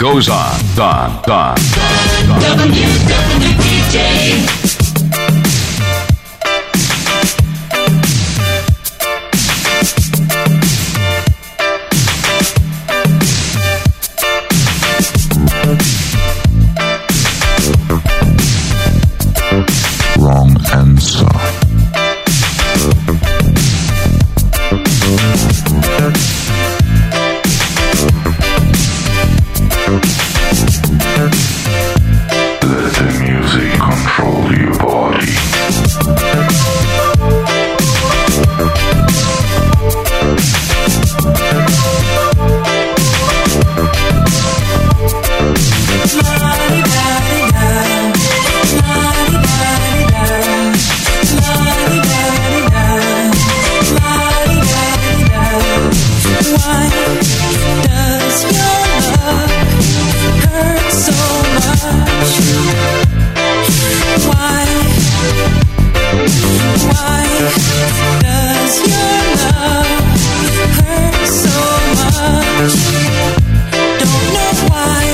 goes on. WWDJ. Wrong answer. Let the music control your body. Why does your love hurt so much? Why does your love hurt so much? Don't know why.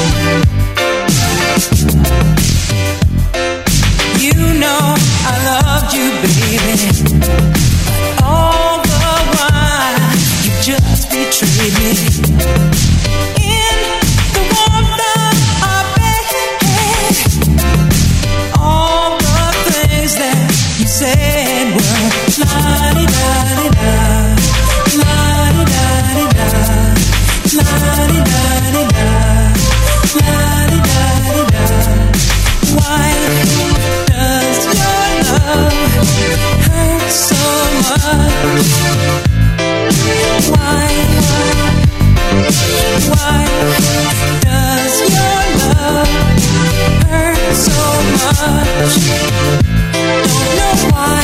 You know I loved you, baby. All the while you just betrayed me. In the warmth of our bed, all the things that you said were la-di-da-di-da, la-di-da-di-da, la-di-da-di-da, la-di-da-di-da. Why does your love hurt so much? Why does your love hurt so much? Don't know why.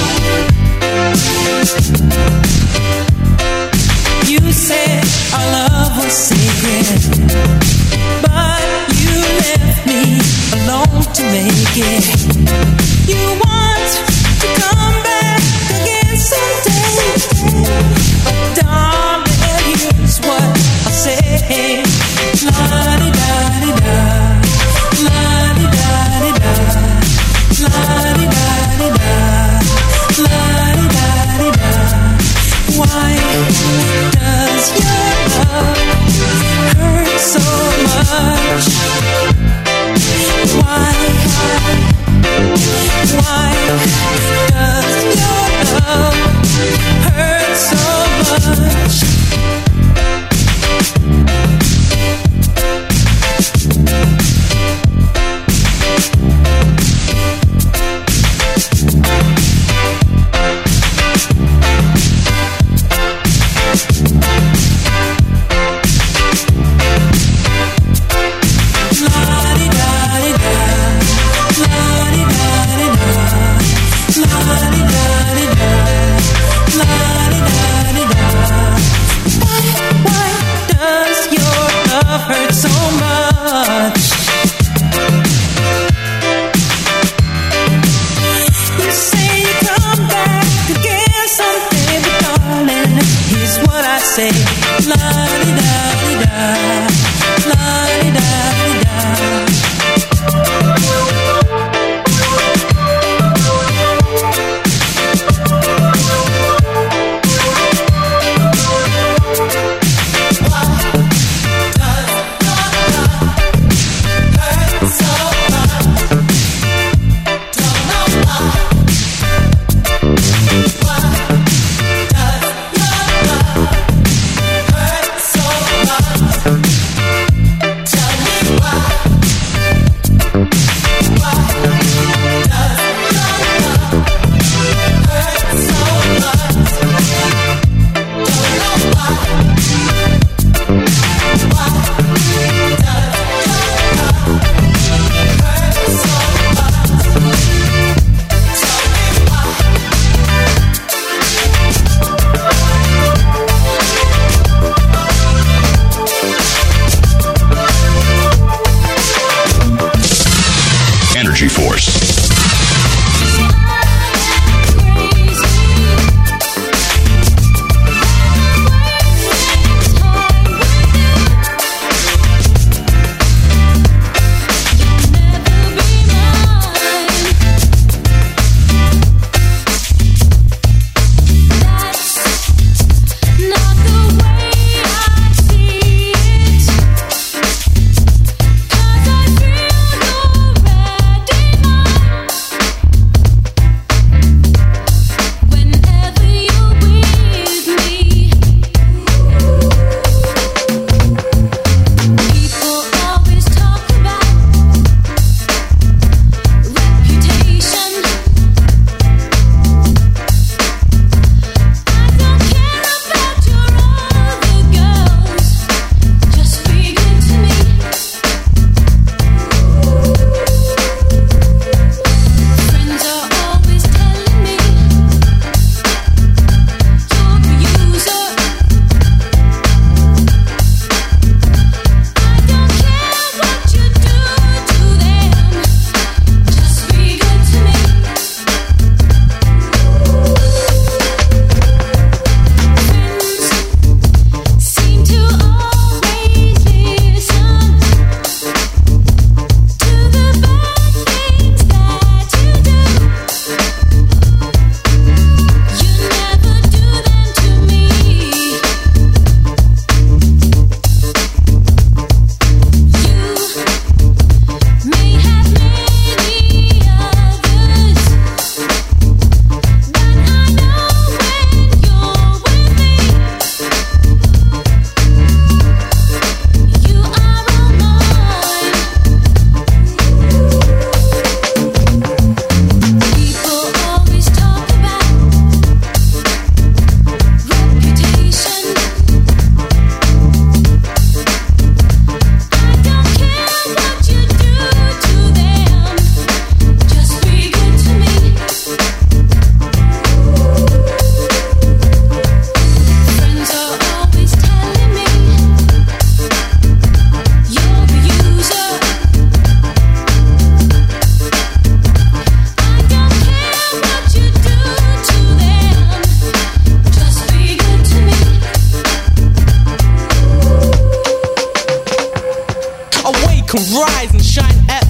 You said our love was sacred, but you left me alone to make it. You want to come back again someday, but darling, here's what I'll say. La-di-da-di-da, la-di-da-di-da, la-di-da-di-da, la-di-da-di-da. Why does your love hurt so much? Why does your love hurt so much?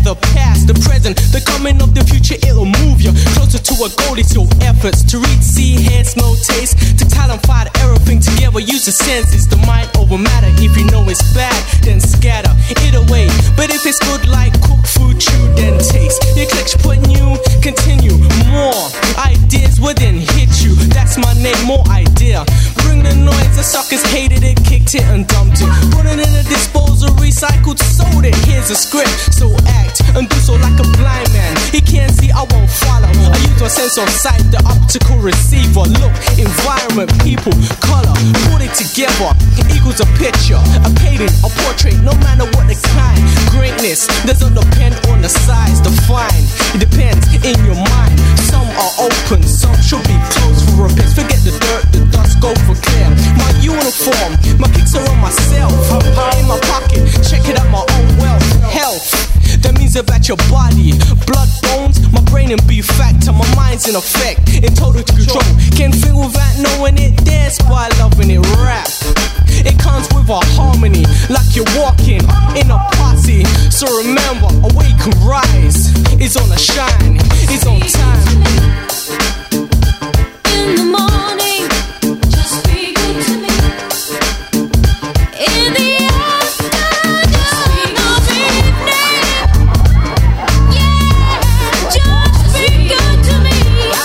the past, the present, the coming of the future. It'll move you closer to a goal. It's your efforts to reach, see, hear, smell, taste. To talent, find everything together. Use the senses, the mind over matter. If you know it's bad, then scatter it away. But if it's good like cooked food, chew, then taste. Your clicks put new, continue. More ideas wouldn't hit you. That's my name, more idea. Bring the noise, the suckers hated it, kicked it and dumped it. Put it in a disposal, recycled, sold it. Here's a script, so act and do so like a blind man. He can't see, I won't follow. I use my sense of sight, the optical receiver. Look, environment, people, color, put it together. It equals a picture, a painting, a portrait, no matter what the kind. Greatness doesn't depend on the size, the fine. It depends in your mind. Some are open, some should be closed for repairs. Forget the dirt, the dust, go for clear. My uniform, my kicks are on myself. In my pocket, check it out, my own wealth. Health, that means about your body. Blood, bones, my brain and be factor. My mind's in effect, in total control. Can't feel without knowing it, dance by loving it. Rap, it comes with a harmony, like you're walking in a posse. So remember, awake and rise. It's on a shine, it's on time. In the morning, just be good to me. In the afternoon of evening, yeah, just be good to me.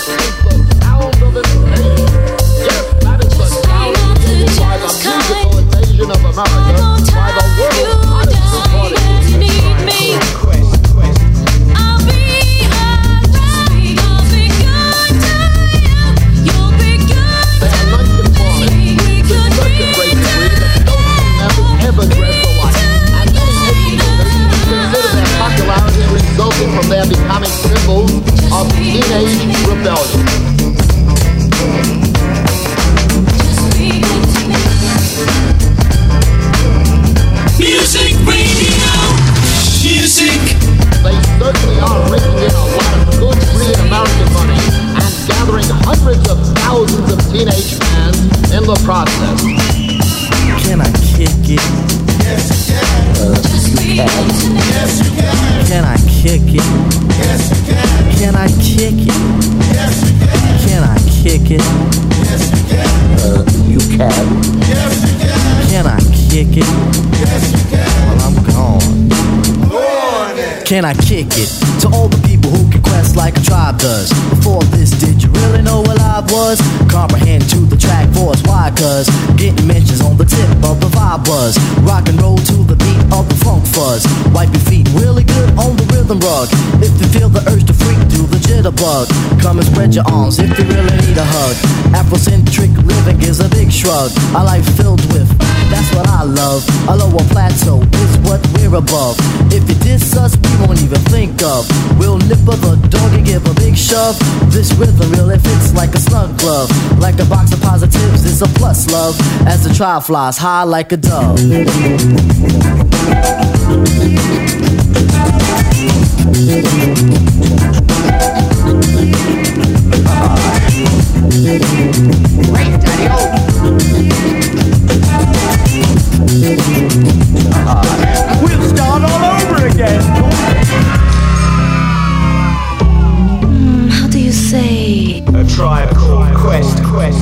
Hang on to just kind. I won't tie you down when you need me. I'll be around. I'll be good to you. You'll be good to me. We could be resulting from their becoming symbols of teenage rebellion. Music radio, music. They certainly are raking in a lot of good free American money and gathering hundreds of thousands of teenage fans in the process. Can I kick it? Yes, you can. Yes, you can. Can I kick it? Yes, you can. Can I kick it? Yes, you can. Can I kick it? Yes, you can. You can. Yes, you can. Can I kick it? Yes, you can. Well, I'm gone. Go on then. Can I kick it? To all the people who can quest like a tribe does. Before this, did you really know what I was? Comprehend to the track force, why? Cause getting mentions on the tip of the vibe was rock and roll to the beat of the funk fuzz. Wipe your feet really good on the rhythm rug. If you feel the urge to freak, do the jitterbug. Come and spread your arms if you really need a hug. Afrocentric living is a big shrug. A life filled with, that's what I love. A lower plateau is what we're above. If you diss us, we won't even think of. We'll nipper the dog and give a big shove. This rhythm really fits like a snug glove. Like a box of positives, it's a plus love. As the trial flies high like a dove. Great, Daddy-O. We'll start all over again. How do you say? A tribe called Quest.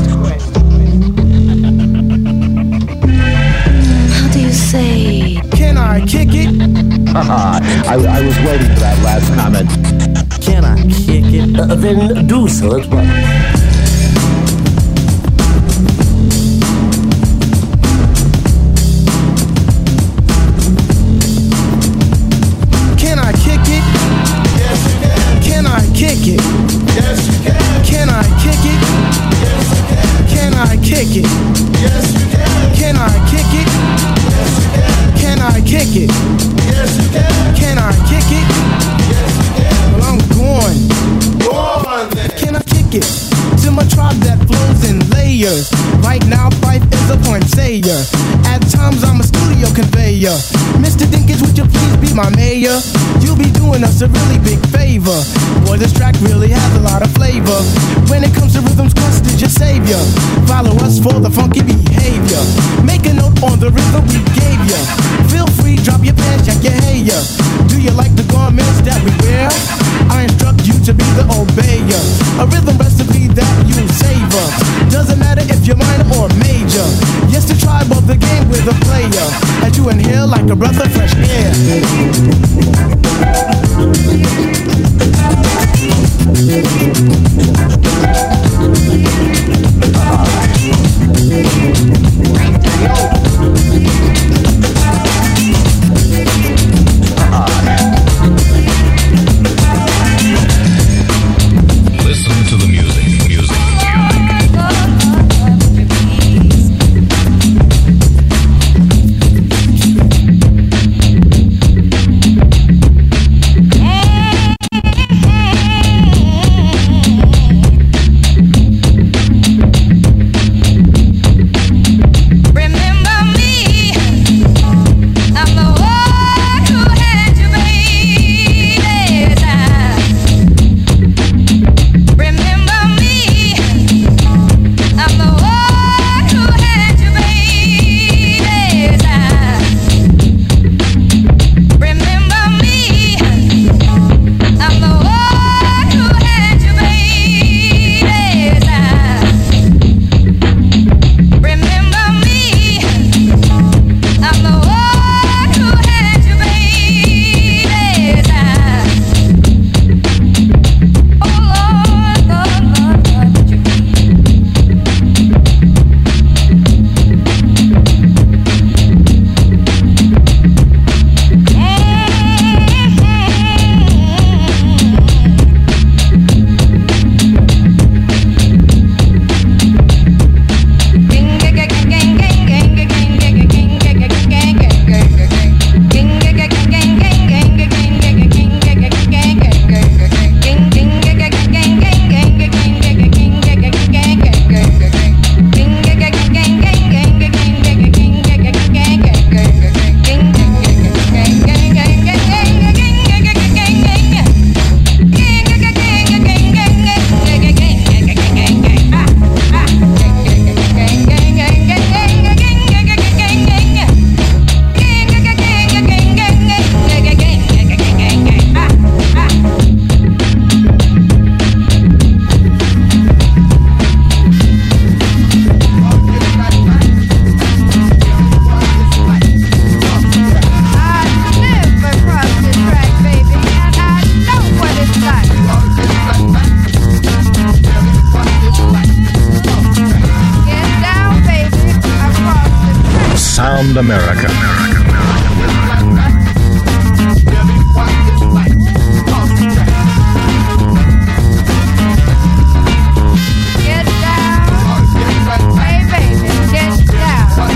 How do you say? Can I kick it? I was waiting for that last comment. Can I kick it? Then do so at once. Can I kick it? Yes, you can. Can I kick it? Yes, you can. Can I kick it? Yes, you can. Can I kick it? Yes, you can. Can I kick it? Yes, you can. Can I kick it? Yes, you can. Can I kick it? Yes, you can. Well, I'm going. Go on then. Can I kick it? To my tribe that flows in layers. Right now, Fife is a point sayer. At times, I'm a studio conveyor. Mr. Dinkins, would you please be my mayor? You'll be doing us a really big favor. Boy, this track really has a lot of flavor. When it comes to rhythms, Quest is your savior. Follow us for the funky behavior. Make a note on the rhythm we gave ya. Feel free, drop your pants, check your hair. Do you like the garments like a breath of fresh air. Listen to the music. America. Get down, hey baby, get down.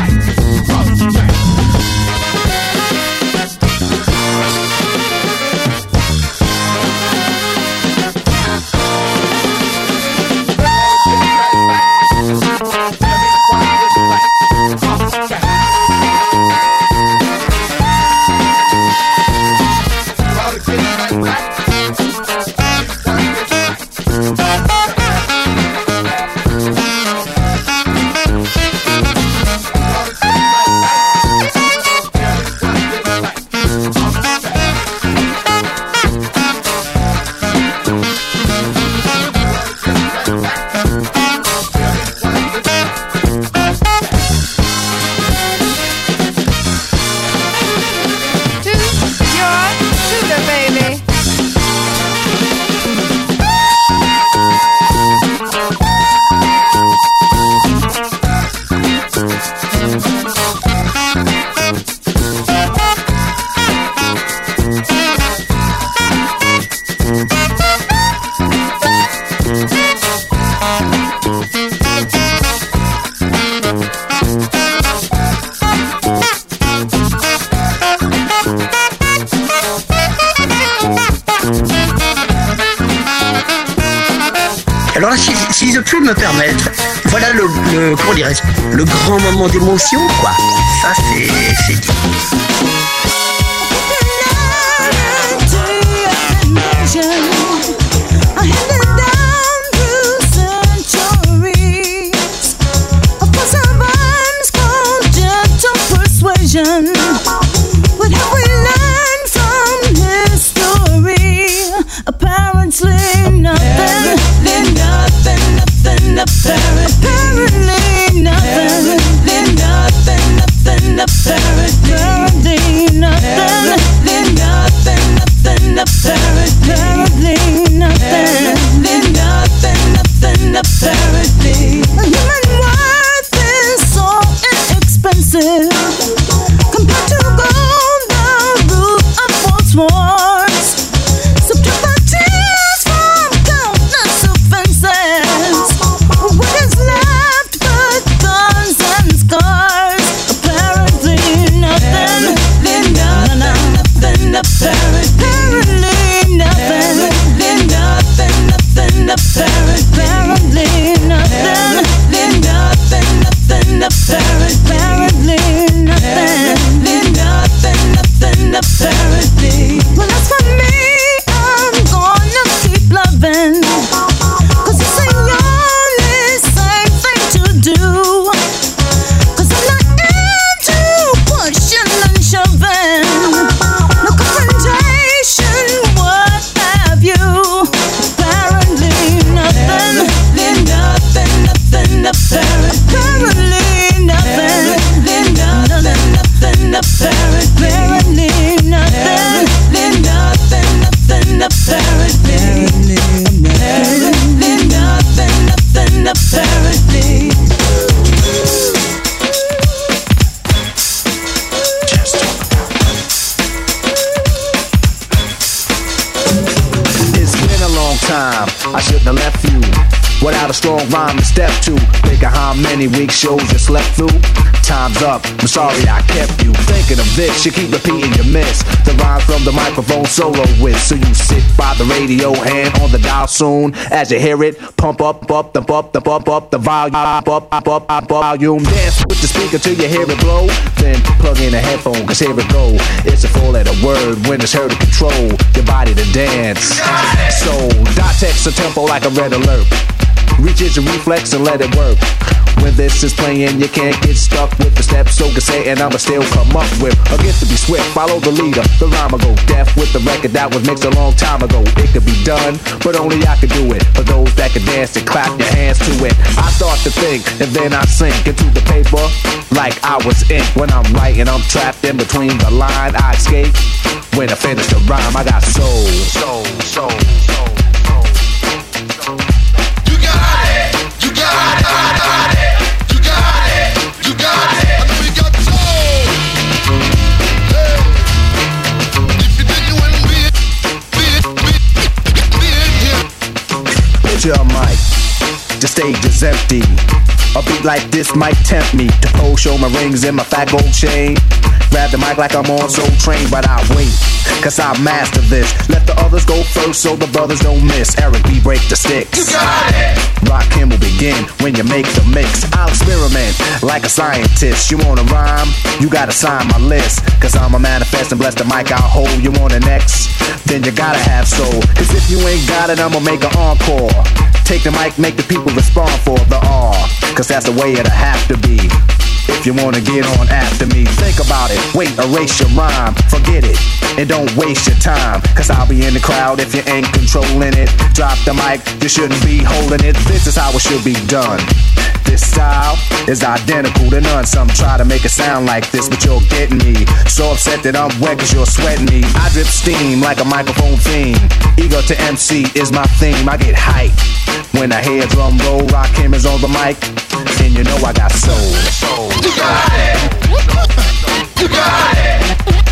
Alors là, si je puis me permettre, voilà le comment dirais-je, le grand moment d'émotion, quoi. Ça, c'est dit. What have we learned from history? Apparently nothing. Apparently nothing. apparently nothing, apparently. Human worth is so inexpensive compared to gold, the root of false wars. Subtract the tears from countless offenses. What is left but guns and scars? Apparently nothing, apparently nothing. Well, as for me, I'm gonna keep loving, 'cause it's the only same thing to do. 'Cause I'm not into pushing and shoving, no confrontation, what have you. Apparently nothing, apparently nothing, apparently It's been a long time, I shouldn't have left you without a strong rhyme to step to. Think of how many week shows you slept through. Time's up, I'm sorry I kept you thinking of this. You keep repeating your miss the rhyme from the microphone solo with. So you sit by the radio, hand on the dial soon. As you hear it, pump up the volume. Dance with the speaker till you hear it blow. Then plug in a headphone, 'cause here it go. It's a four-letter word when it's heard to control your body to dance. So dot text a tempo like a red alert. Reach your reflex and let it work. When this is playing, you can't get stuck with the steps. So can say, and I'ma still come up with a gift to be swift. Follow the leader, the rhyme will go deaf with the record that was mixed a long time ago. It could be done, but only I could do it. For those that can dance and clap your hands to it. I start to think, and then I sink into the paper like I was ink. When I'm writing, I'm trapped in between the line. I escape when I finish the rhyme. I got soul. Picture a mic, the stage is empty. A beat like this might tempt me to pose, show my rings and my fat gold chain. Grab the mic like I'm on Soul Train, but I wait, 'cause I master this. Let the others go first so the brothers don't miss. Eric B, break the sticks. You got it! Rakim will begin when you make the mix. I'll experiment like a scientist. You wanna rhyme? You gotta sign my list. 'Cause I'm a manifest and bless the mic I'll hold. You want the next? Then you gotta have soul. 'Cause if you ain't got it, I'ma make an encore. Take the mic, make the people respond for the R. 'Cause that's the way it'll have to be. If you wanna get on after me, think about it. Wait, erase your rhyme, forget it, and don't waste your time. 'Cause I'll be in the crowd if you ain't controlling it. Drop the mic, you shouldn't be holding it. This is how it should be done. This style is identical to none. Some try to make it sound like this, but you're getting me. So upset that I'm wet 'cause you're sweating me. I drip steam like a microphone theme. Ego to MC is my theme. I get hype when I hear drum roll. Rakim is on the mic, and you know I got soul. You got it. You got it.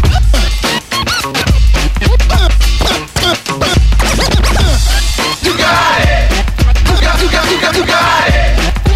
You got it. You got it.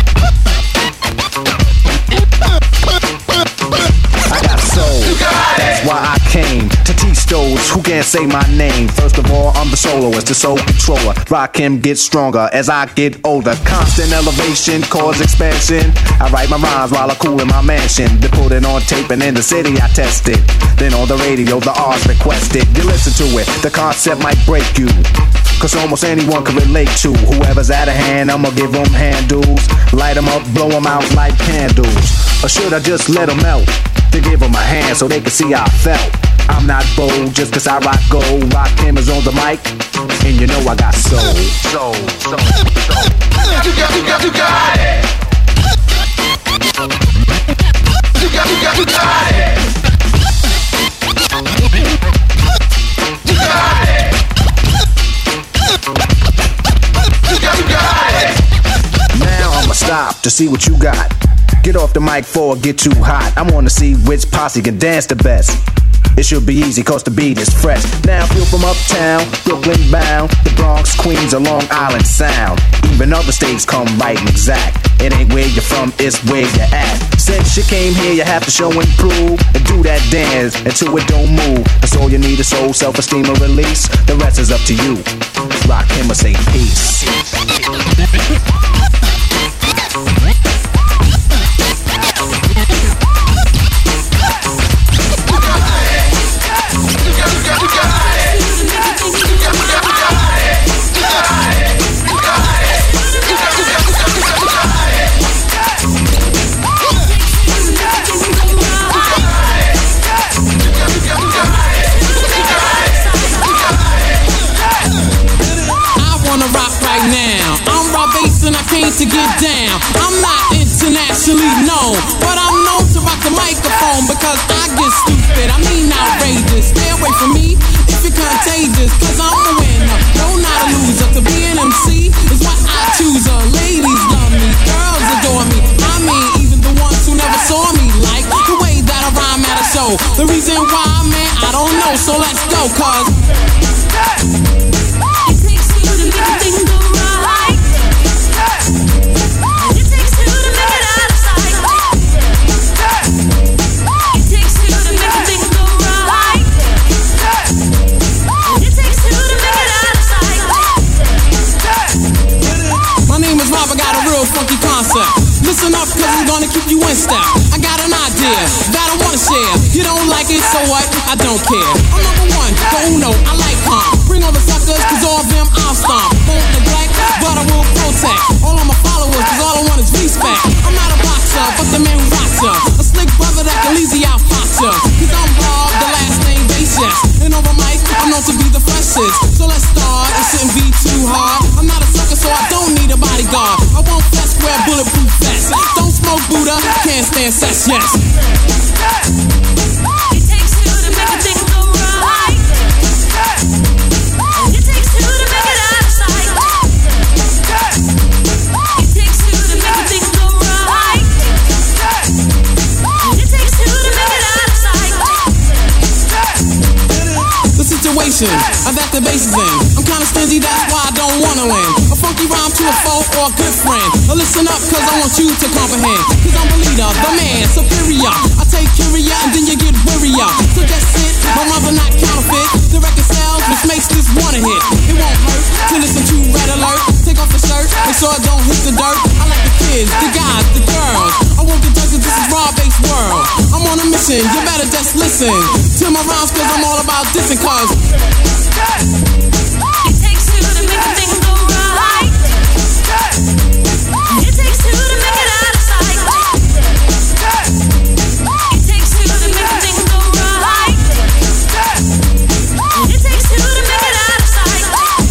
I got soul. That's why I came to teach those who can't say my name. First of all, I'm the soloist, the soul controller. Rakim gets stronger as I get older. Constant elevation, cause expansion. I write my rhymes while I cool in my mansion. They put it on tape and in the city I test it. Then on the radio, the R's requested. You listen to it, the concept might break you. 'Cause almost anyone can relate to whoever's out of hand. I'ma give them handles, light them up, blow them out like candles. Or should I just let them melt? To give them a hand so they can see how I felt. I'm not bold just 'cause I rock gold. Rakim is on the mic, and you know I got soul. Soul. You got it. You got it. top to see what you got. Get off the mic before it get too hot. I wanna see which posse can dance the best. It should be easy cause the beat is fresh. Now feel from uptown, Brooklyn bound, the Bronx, Queens, or Long Island Sound. Even other states come right and exact. It ain't where you're from, it's where you're at. Since you came here, you have to show and prove and do that dance until it don't move. That's all you need is soul, self-esteem, or release. The rest is up to you. Rock him or say peace. And I came to get down. I'm not internationally known, but I'm known to rock the microphone because I get stupid, I mean outrageous. Stay away from me if you're contagious, cause I'm a winner, no not a loser. To be an MC is what I choose. Ladies love me, girls adore me. I mean even the ones who never saw me, like the way that I rhyme at a show. The reason why, man, I don't know, so let's go, cause it takes two to make a thing go right. It takes two to make it out of sight. It takes two to make a thing go right. It takes two to make it out of sight. My name is Rob, I got a real funky concept. Listen up, cause I'm gonna keep you in step. I got an idea that I wanna share. You don't like it, so what? I don't care. I'm number one, the uno, I like calm. Bring all the suckers, cause all of them I'll stomp. Won't neglect, but I will protect all of my followers, cause all I want is respect. I'm not a boxer, but the man who rocks ya. A slick brother that can easy out fox ya. Cause I'm Bob, the last name Basis. And over mic, I'm known to be the freshest. So let's start, it shouldn't be too hard. I'm not a sucker, so I don't need a bodyguard. I won't flex, wear bulletproof vest. Don't smoke Buddha, can't stand sex, yes. It takes two to make a thing go right. It takes two to make it out of sight. It takes two to make a thing go right. It takes two to make it out of sight. The situation that the bass is in, I'm kinda stingy, that's why I don't wanna win. A funky rhyme to a foe or a good friend. Listen up, cause I want you to comprehend. Cause I'm the leader, the man, superior. I take curia and then you get wearier. So that's it, my rhymes are not counterfeit. The record sells, which makes this one a hit. It won't hurt to listen to Red Alert. Take off the shirt, make sure it don't hit the dirt. I like the kids, the guys, the girls. I won't get judged, this is raw-based world. I'm on a mission, you better just listen to my rhymes, cause I'm all about dissing, cause it takes two to make a thing go right. It takes two to make it out of sight. It takes two to make a thing go right. It takes two to make it out of sight.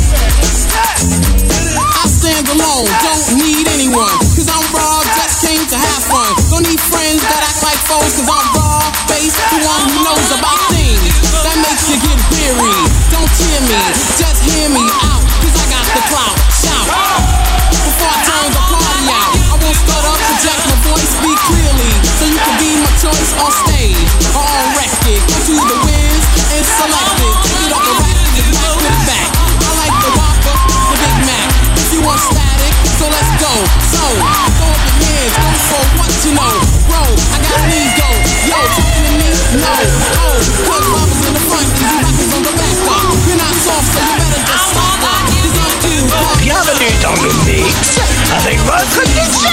I stand alone, don't need anyone, cause I'm raw, just came to have fun. Don't need friends that act like foes, cause I'm raw, based, the one who knows about things that makes you get weary. Don't cheer me, just hear me out, cause I got the clout. Shout before I turn the party out. I won't start up, project my voice, speak clearly, so you can be my choice on stage or on record. Go to the wins and select it. Take it off the rack and just put it back. I like the Whopper, the Big Mac. If you want static, so let's go. So throw up your hands, go for what you know. Bro, I got an ego. Yo, talking to me? No. Oh, cause Robbers in the front and you rockers on the back. You're not soft, so you better just stop. Cause I'm too hard. Bienvenue dans le mix avec votre DJ.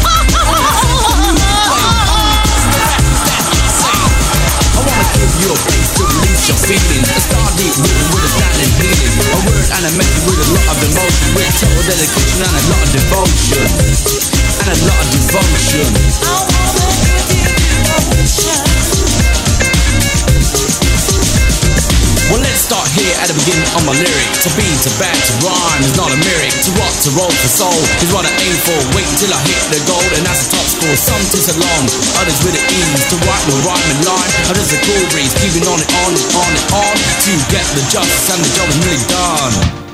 I wanna give you a place to release your feelings. A star deep rooted with a standing feeling. A word and a message with a lot of emotion. With total dedication and a lot of devotion. And a lot of devotion. I wanna give you devotion. Well, let's start here at the beginning of my lyric. To be, to bad, to rhyme is not a lyric. To rock, to roll, to soul is what I aim for. Wait till I hit the goal and that's the top score. Some takes a long, others with the ease. To write the rhyming line, others a cool breeze. Keeping on and on and on and on to get the justice and the job is nearly done.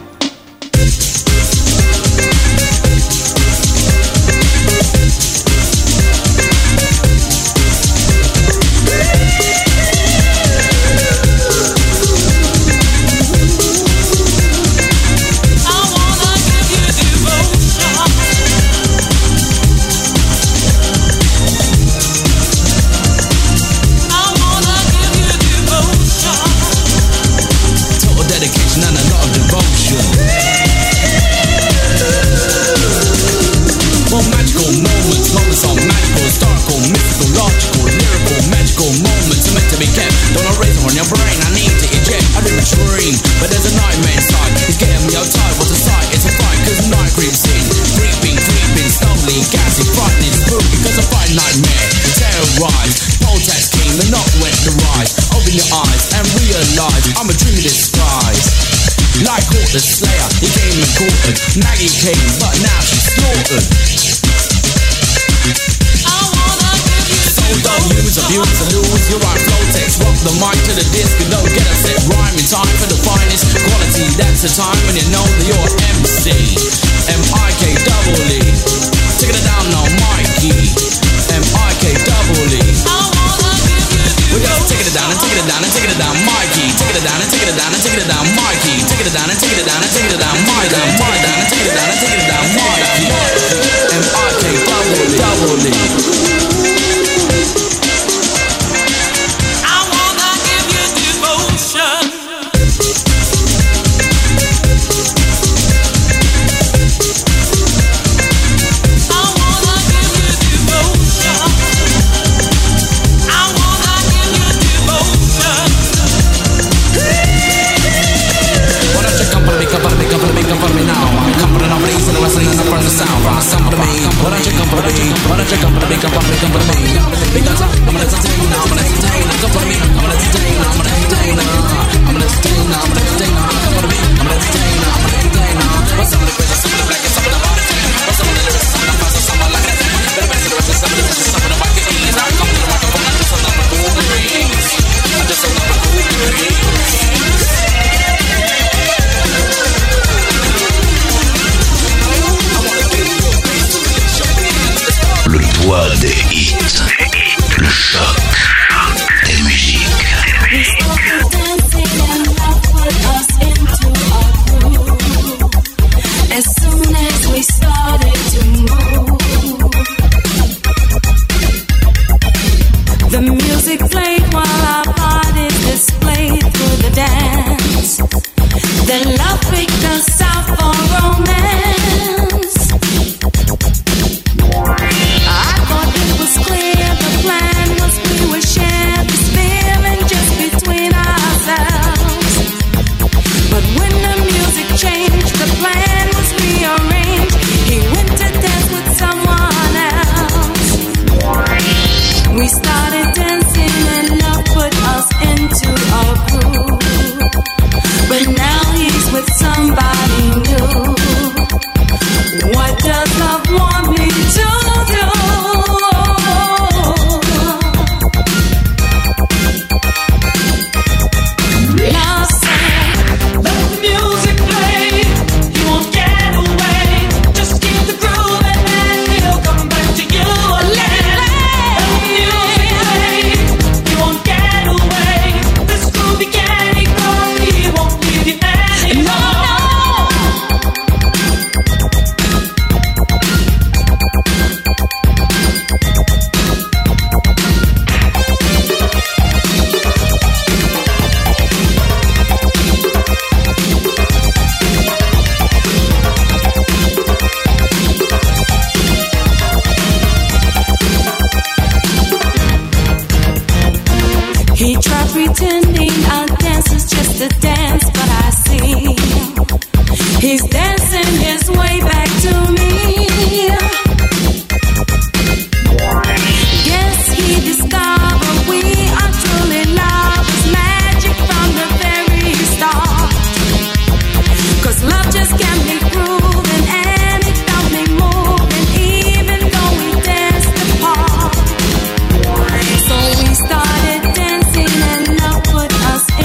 moments are magical, historical, mystical, logical, lyrical, magical moments are meant to be kept. Don't erase on your brain, I need to eject. I didn't dream, but there's a nightmare inside. It's getting me outside, what's a sight? It's a fight, cause night creeps in. Creeping, slowly, gassy, frightening, spooky, cause I fight nightmare. Terrorize, poltergeist king, the knock went to rise. Open your eyes and realize I'm a dream in disguise. Like Hawk the Slayer, he came and caught us. Maggie came, but now she's slaughtered. So don't use, abuse, and lose your right flow text. Rock the mic to the disc and don't get upset. Rhyme in time for the finest quality. That's the time when you know that you're MC. M-I-K-double-E. Taking it down now, Mikey. M-I-K-double-E. We're just taking it down and taking it down and taking it down, Mikey. Taking it down and taking it down and taking it down, Mikey. Taking it down and taking it down and taking it down, Mikey. Taking it down and taking it down and taking it down, Mikey. M-I-K-double-E.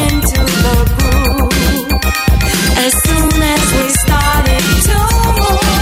As soon as we started to move.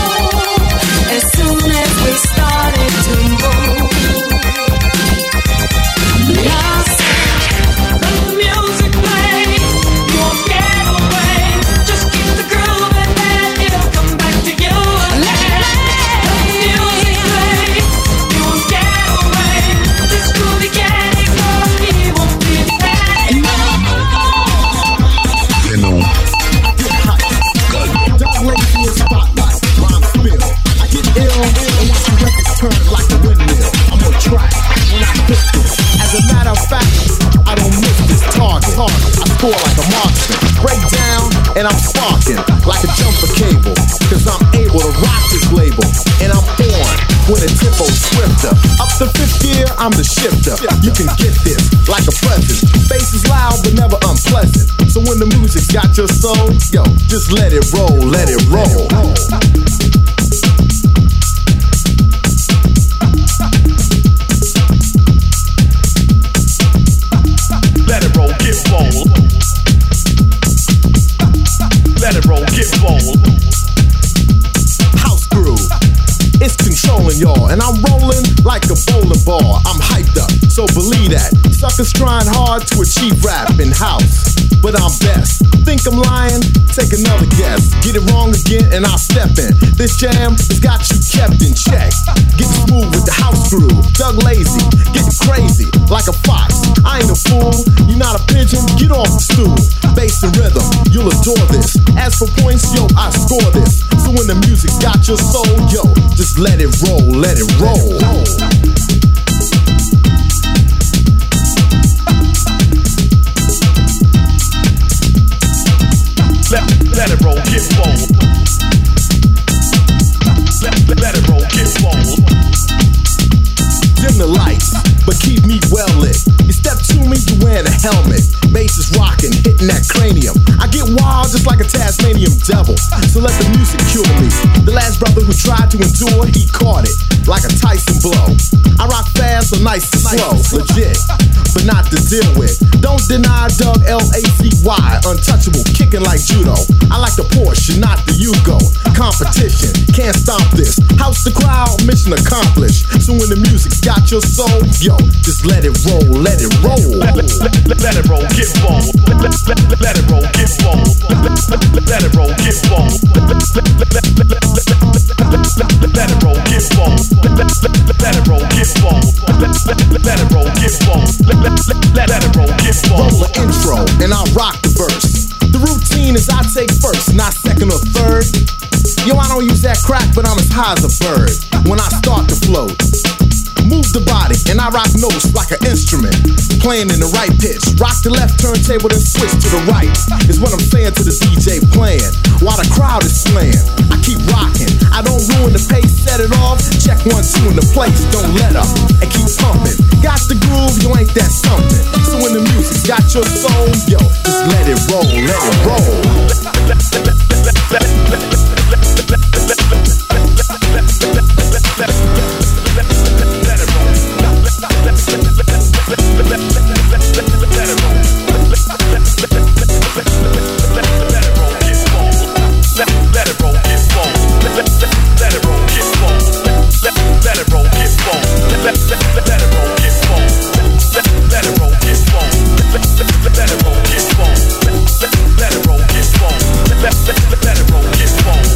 hardcore like a marksman. Break down and I'm sparking like a jumper cable. Cause I'm able to rock this label. And I'm on when the tempo's swifter. Up the fifth gear, I'm the shifter. You can get this like a present. Bass is loud but never unpleasant. So when the music's got your soul, yo, just let it roll, let it roll. Let it roll, get bold. Let it roll, get bold. House groove, it's controlling y'all, and I'm rolling like a bowling ball. I'm hyped up, so believe that. Suckers trying hard to achieve rap in house, but I'm best. Think I'm lying? Take another guess. Get it wrong again, and I'll step in. This jam has got you kept in check. Get smooth with the house groove. Doug Lazy, get crazy like a fox. I ain't a fool, you're not a pigeon. Get off the stool. Bass and rhythm, you'll adore this. As for points, yo, I score this. So when the music got your soul, yo, just let it roll, let it roll. Let it roll, get bold. Let it roll, get bold. Dim the lights, but keep me well lit. You step to me, you wearing a helmet. Bass is rocking, hitting that cranium. I get wild just like a Tasmanian devil. So let the music cure me. The last brother who tried to endure, he caught it like a Tyson blow. I rock fast, so nice and slow, legit, but not to deal with. Don't deny Doug Lacy, untouchable, kicking like judo. I like the Porsche, not the Yugo. Competition, can't stop this. House the crowd, mission accomplished. So when the music's got your soul, yo, just let it roll, let it roll. Let it roll, get bold. Let it roll, get bold. Let it roll, get bold. Let it roll, get bold. Let it roll, get bold. Let it roll, get bold. Let it roll, get bold. Roll the intro, and I'll rock the verse. The routine is I take first, not second or third. Yo, I don't use that crack, but I'm as high as a bird when I start to float. Move the body, and I rock notes like an instrument, playing in the right pitch. Rock the left turntable, then switch to the right, is what I'm saying to the DJ playing, while the crowd is slaying. I keep rocking, I don't ruin the pace, set it off. Check 1, 2 in the place, don't let up, and keep pumping. Got the groove, you ain't that something. So when the music's got your soul, yo, just let it roll, let it roll. Let it roll, get bold.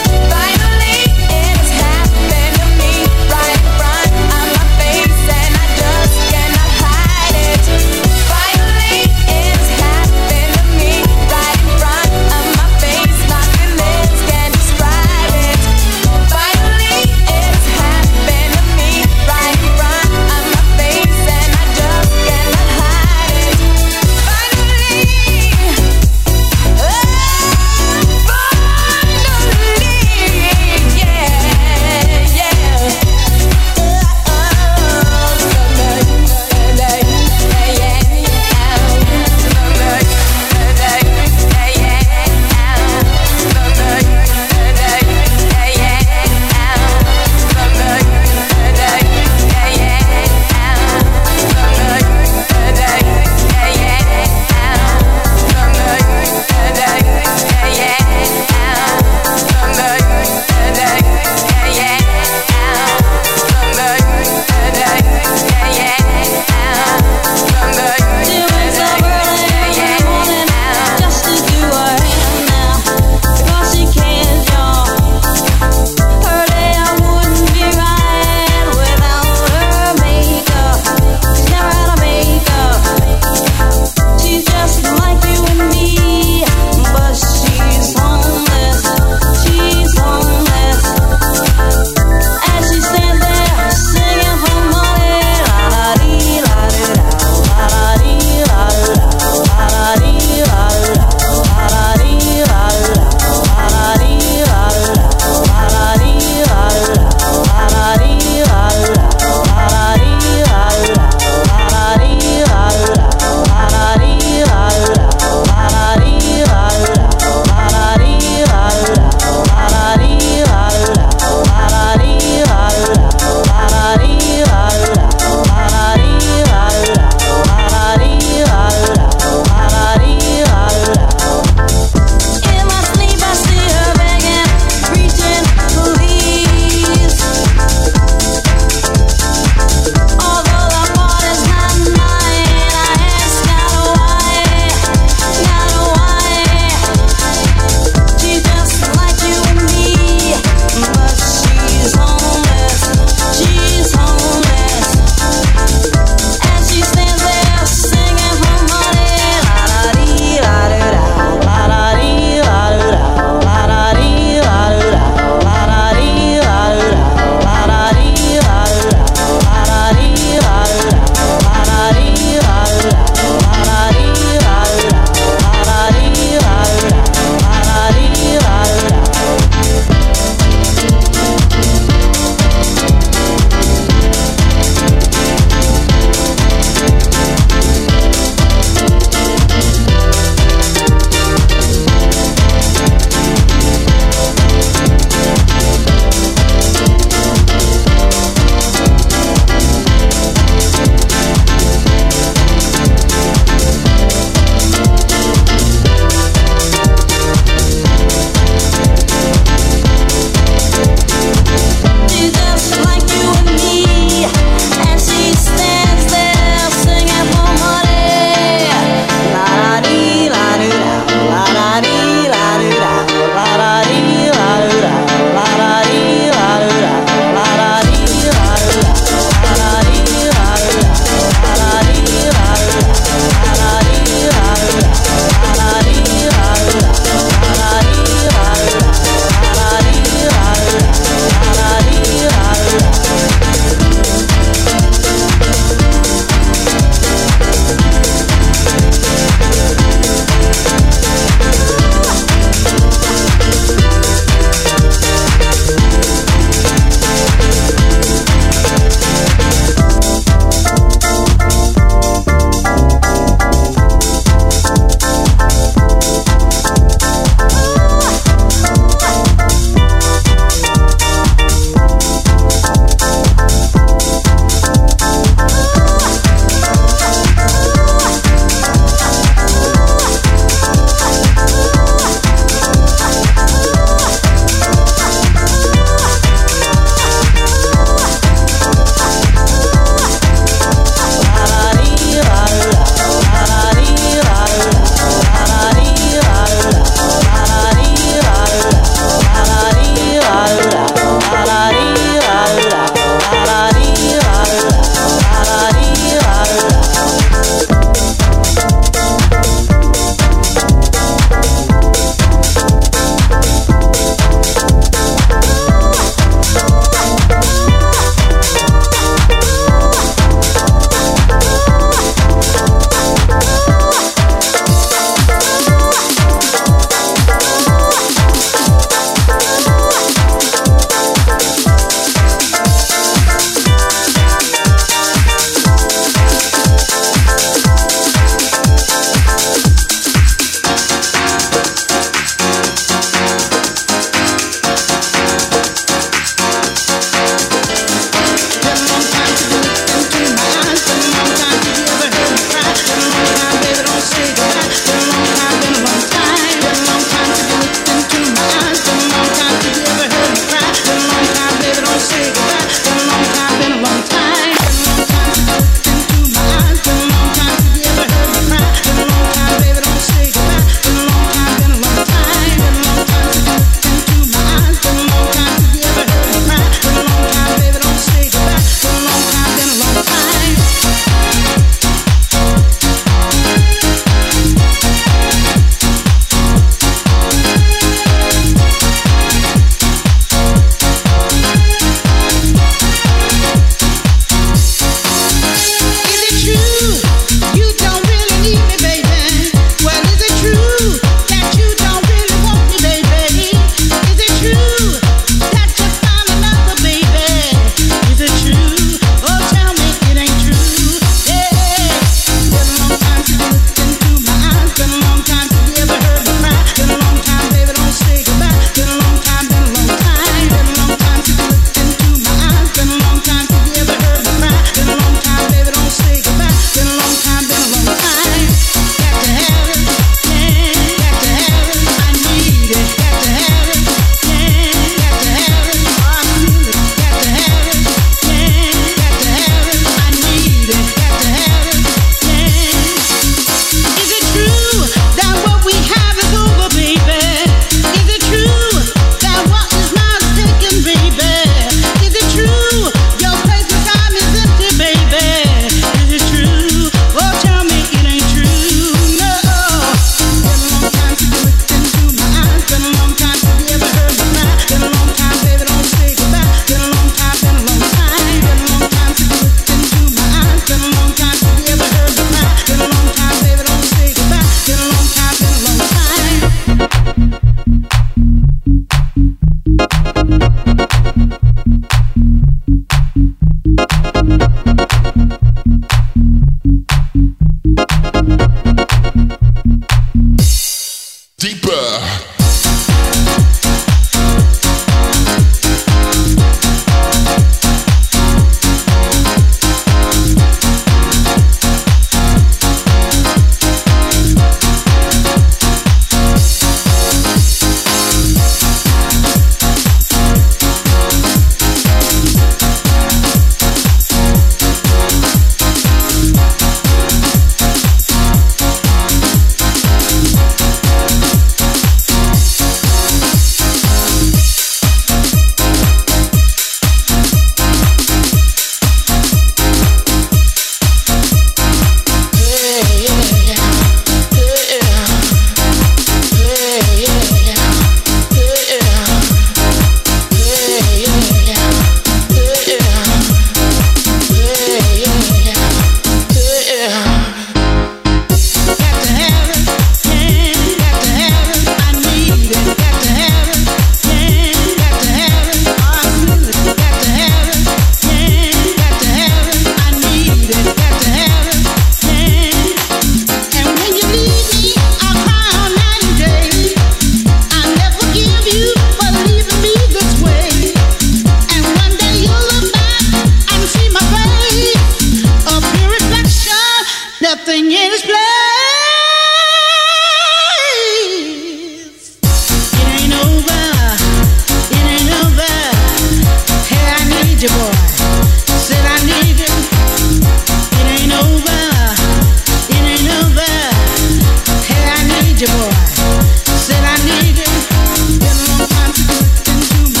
need you, boy. Said I need you. Been a long time to look into my.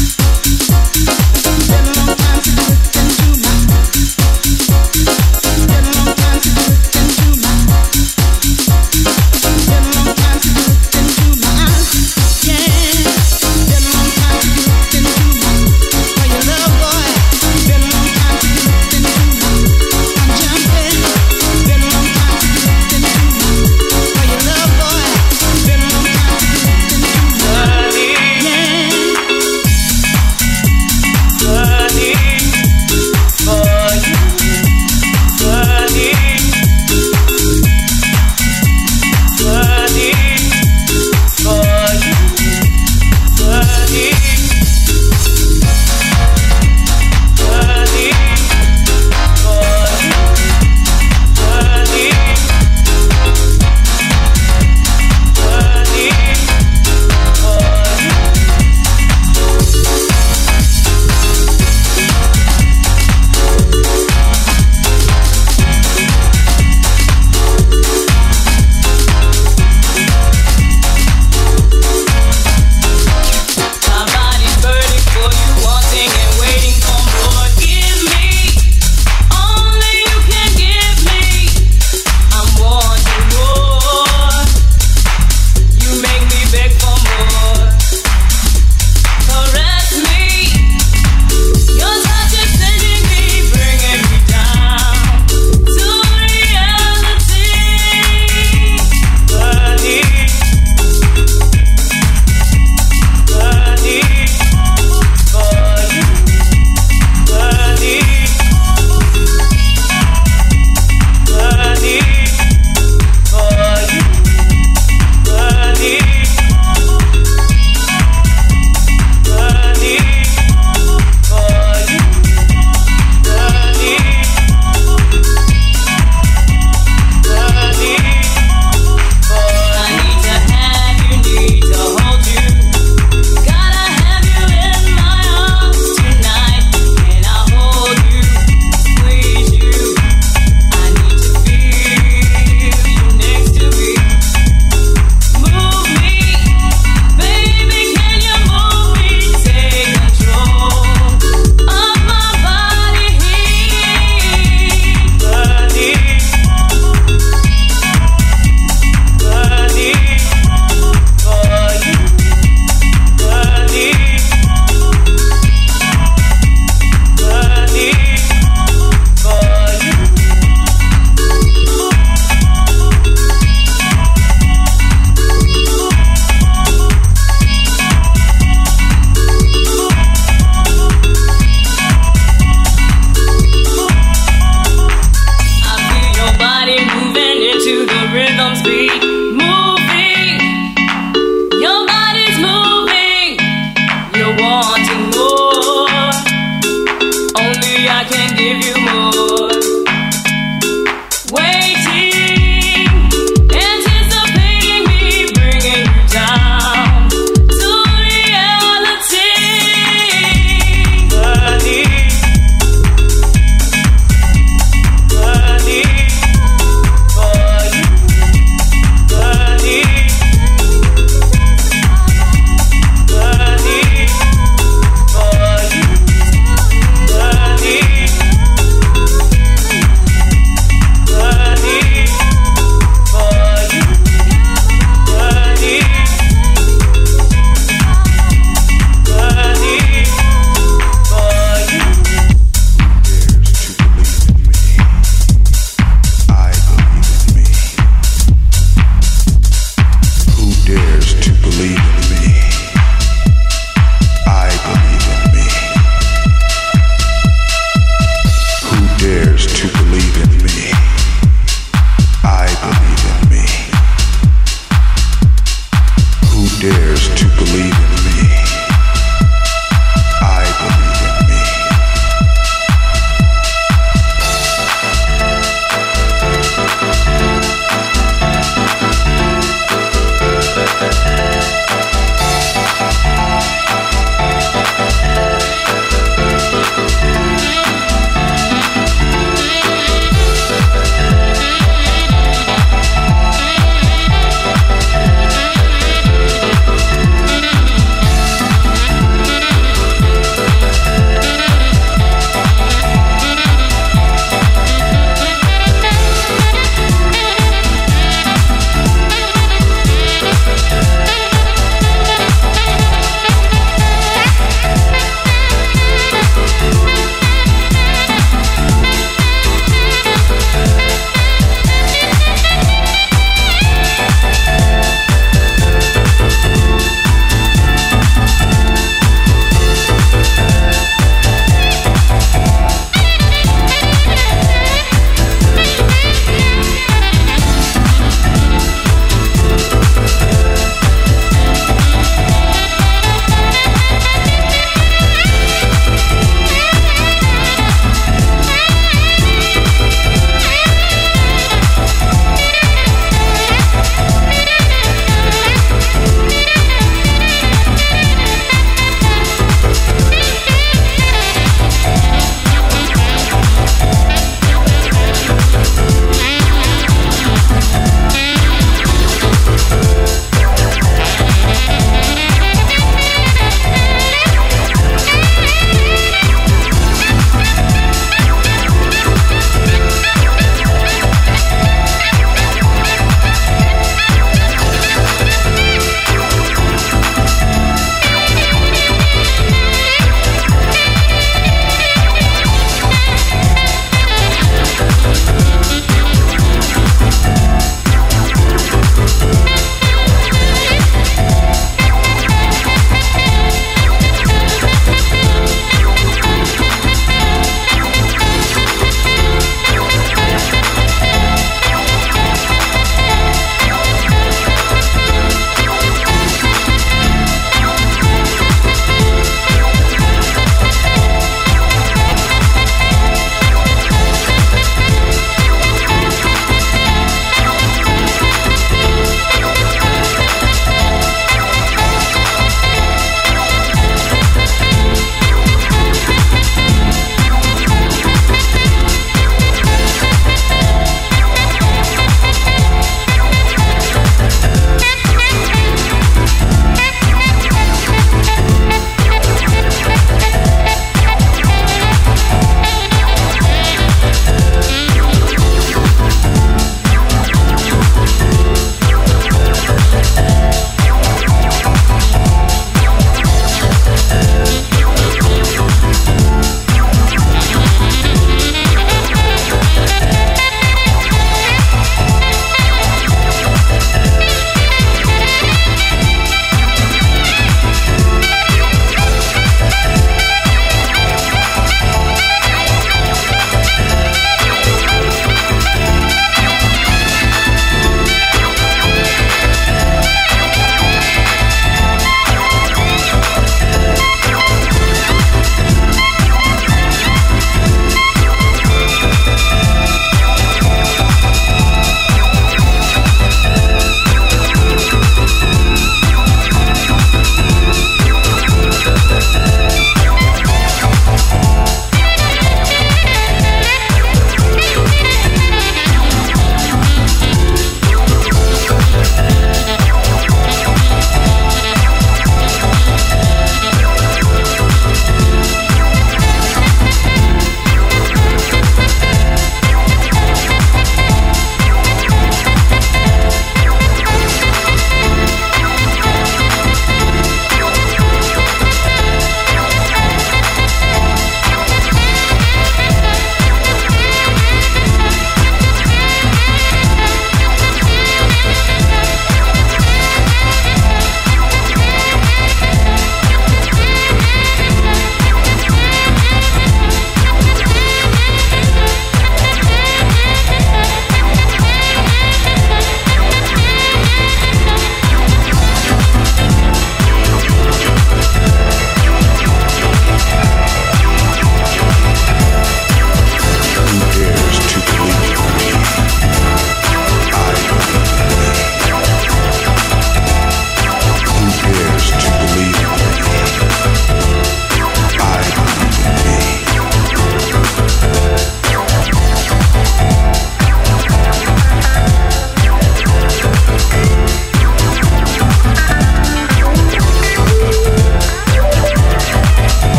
Been a long time to look into my. Been a long time to look into my. Been a long time to look into my. Yeah. Been a long time to look into my. For your love, boy. Been a long time to look into my. I'm jumping. Been a long time to look into my. For your love, boy.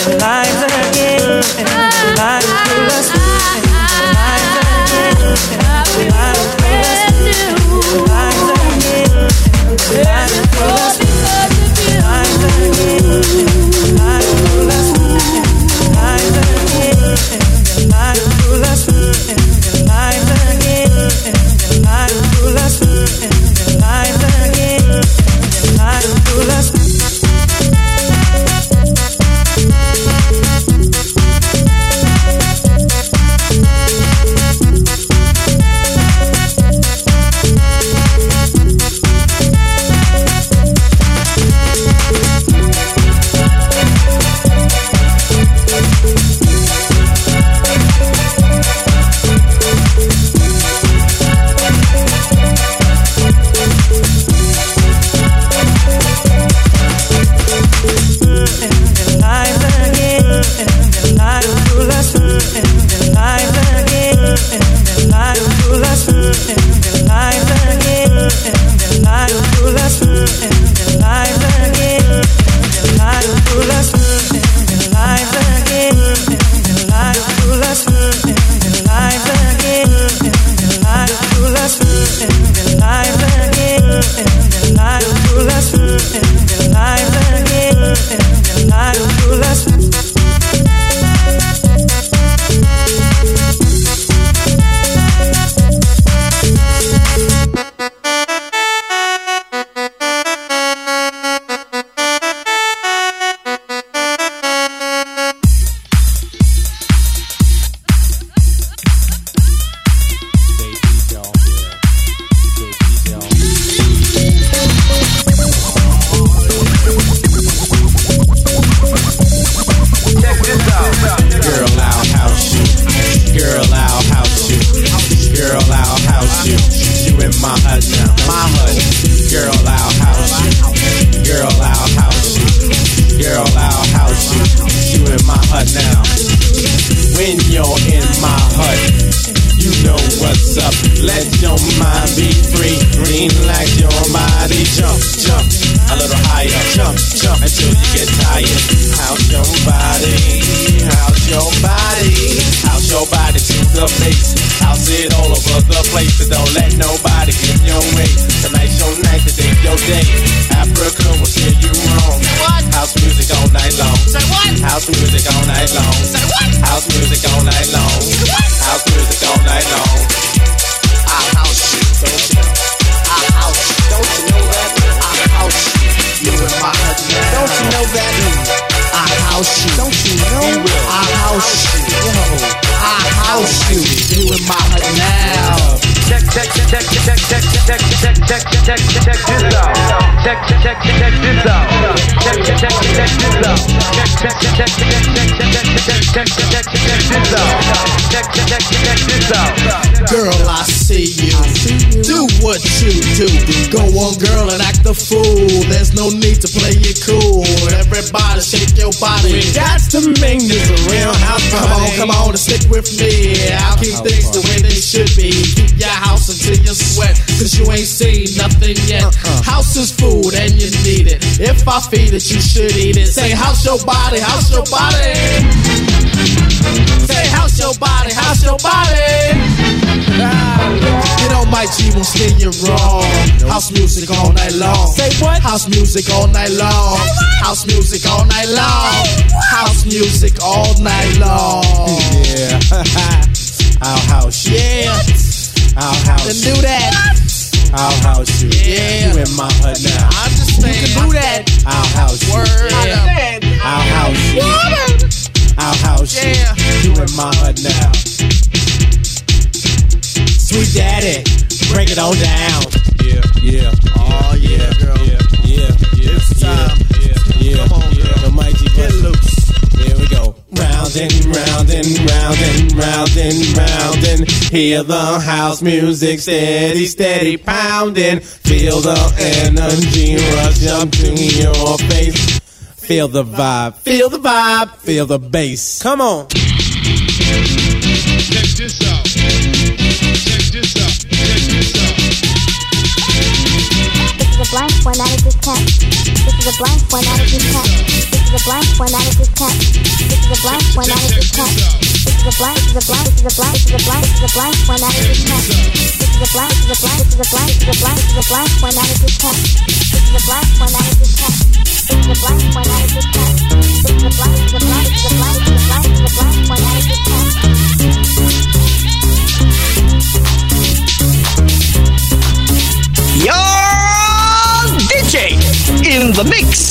Girl, I see you. Do what you do. Go on, girl, and act the fool. There's no need to play it cool. Everybody shake your body. That's the mean is a real house party. Come on, and stick with me. I'll keep things the way they should be. Keep your house until you sweat, cause you ain't seen nothing yet. House is food and you need it. If I feed it, you should eat it. Say, house your body, house your body. Say, house your body, house your body. You know my G won't steer you wrong. House music all night long. Say what? House music all night long. House music all night long. House music all night long. Yeah. Our house. Yeah. Our house. Then do that. Our house. Yeah. You in my hood now. I understand. You can do that. Our house. Word. Yeah. Our house. What? Our house. Yeah. You in my hood now. Sweet daddy, break it on down. Yeah, yeah. Oh yeah, girl. Yeah. It's time. Yeah. Come on, girl. The mighty get loose. Here we go. Round and hear the house music steady pounding. Feel the energy rush up to your face. Feel the vibe, feel the bass. Come on. Check this out. This is a blank formatted diskette. This is a blank formatted diskette. is a blank when that is discount. This is a blank when that is discount. This is a blank, this is a blank, this is a blank, this is a blank, this is a blank when that is discount. This is a blank, this is a blank, this is a blank, this is a blank, this is a blank when that is discount. This is a blank when that is discount. This is a blank when that is discount. This is a blank, this is a blank, this is a blank, this is a blank, this is a blank when that is discount. Your DJ in the mix.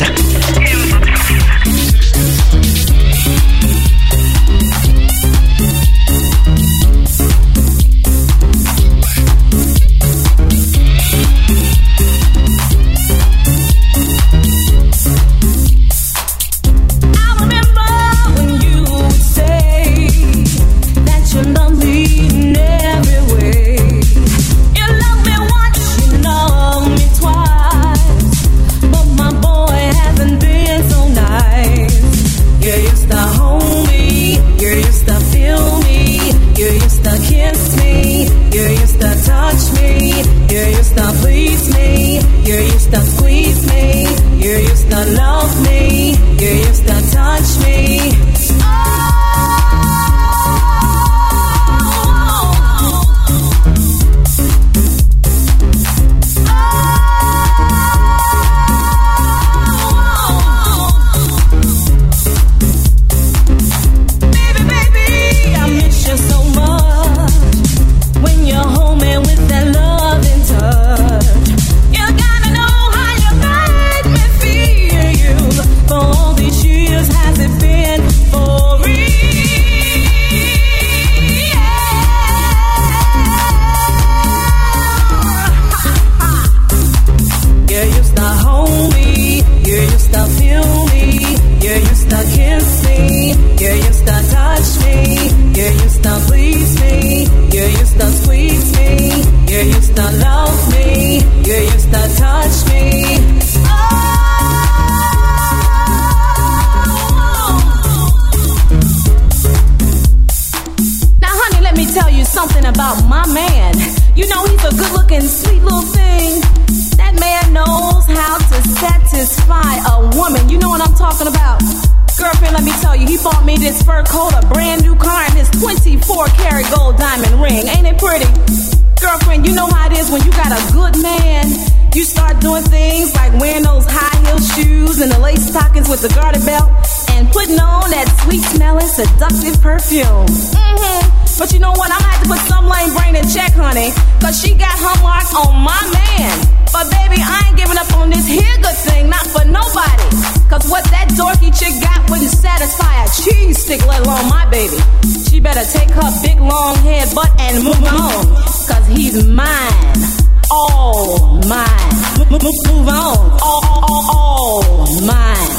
Seductive perfume. But you know what? I'm gonna have to put some lame brain in check, honey. Cause she got her mark on my man. But baby, I ain't giving up on this here good thing, not for nobody. Cause what that dorky chick got wouldn't satisfy a cheese stick, let alone my baby. She better take her big long head butt and move on. Cause he's mine. All mine. Move on. All mine.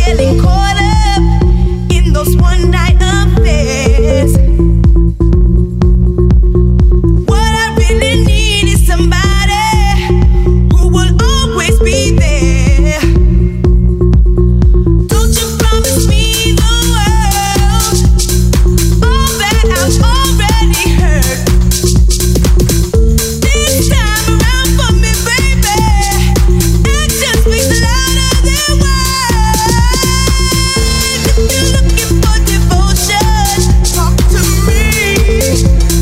getting caught up in those one night affairs. What I really need is somebody who will always be there. Don't you promise me the world, all that I've already heard. This time around for me, baby, action speaks louder than words. If you're looking for devotion, talk to me.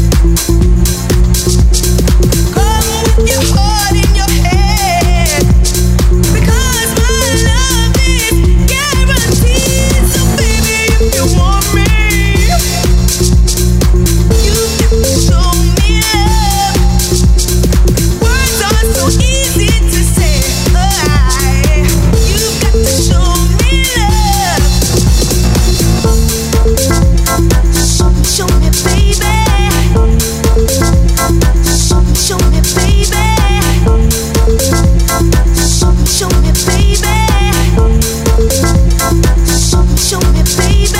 Come with your heart in your hand, because my love is guaranteed. So baby, if you want me, you got to show me love. Words are so easy to say. You got to show me love. Show me, baby. Show me, baby. Show me, baby. Show me, baby.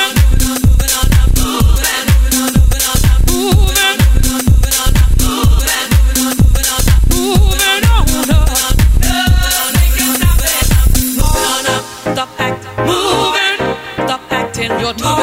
Stop acting, you're talking.